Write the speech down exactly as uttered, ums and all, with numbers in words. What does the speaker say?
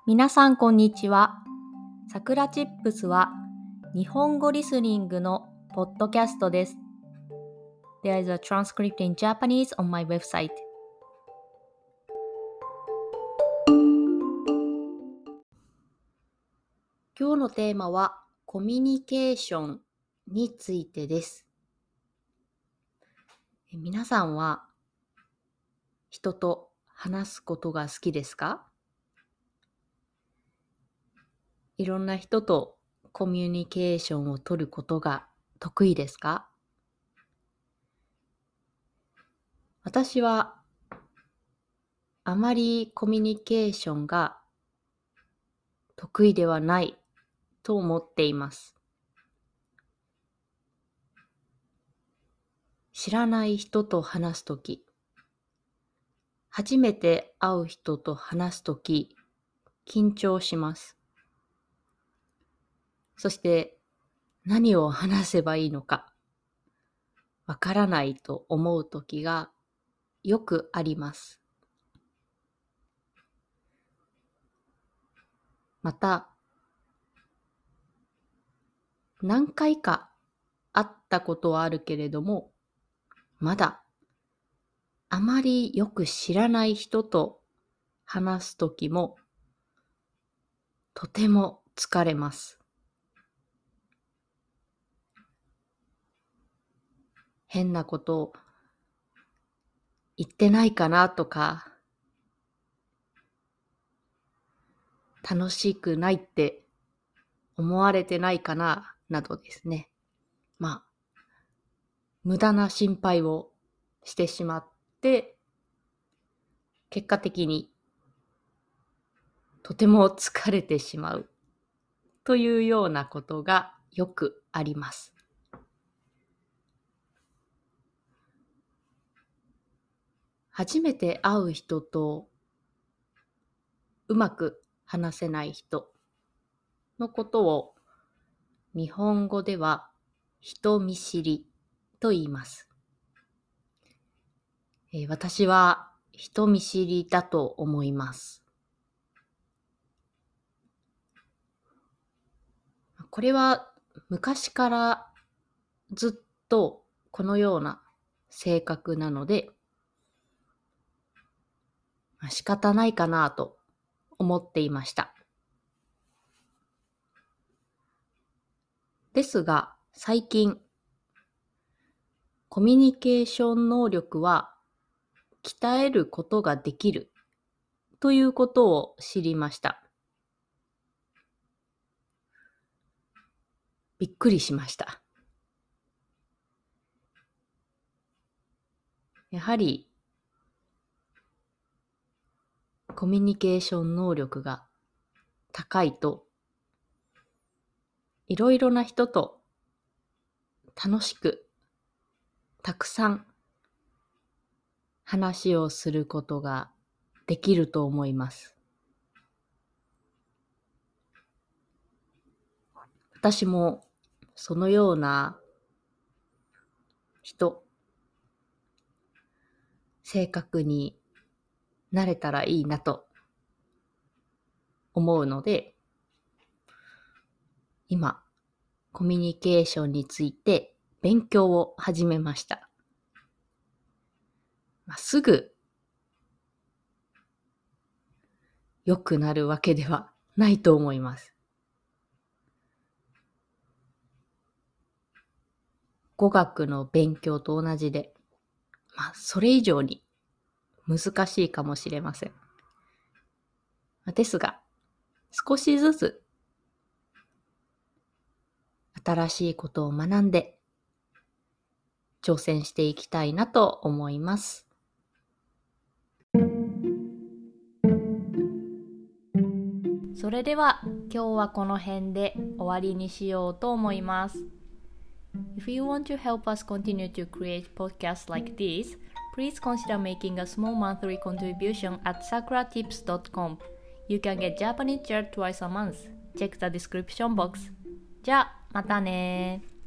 皆さんこんにちは。さくらチップスは日本語リスニングのポッドキャストです。There is a transcript in Japanese on my website. 今日のテーマはコミュニケーションについてです。皆さんは人と話すことが好きですか？いろんな人とコミュニケーションを取ることが得意ですか？私はあまりコミュニケーションが得意ではないと思っています。知らない人と話すとき、初めて会う人と話すとき、緊張します。そして何を話せばいいのかわからないと思うときがよくあります。また、何回か会ったことはあるけれども、まだあまりよく知らない人と話すときもとても疲れます。変なことを言ってないかなとか、楽しくないって思われてないかななどですね。まあ、無駄な心配をしてしまって、結果的にとても疲れてしまうというようなことがよくあります。初めて会う人とうまく話せない人のことを日本語では人見知りと言います。えー、私は人見知りだと思います。これは昔からずっとこのような性格なので、仕方ないかなと思っていました。ですが、最近、コミュニケーション能力は鍛えることができるということを知りました。びっくりしました。やはり、コミュニケーション能力が高いと、いろいろな人と楽しく、たくさん話をすることができると思います。私もそのような人、性格になれたらいいなと思うので、今、コミュニケーションについて勉強を始めました。まあ、すぐ良くなるわけではないと思います。語学の勉強と同じで、まあ、それ以上に難しいかもしれません。ですが、少しずつ新しいことを学んで挑戦していきたいなと思います。それでは今日はこの辺で終わりにしようと思います。If you want to help us continue to create podcasts like this, please consider making a small monthly contribution at sakura tips dot com. You can get Japanese chat twice a month. Check the description box. じゃあ、またね。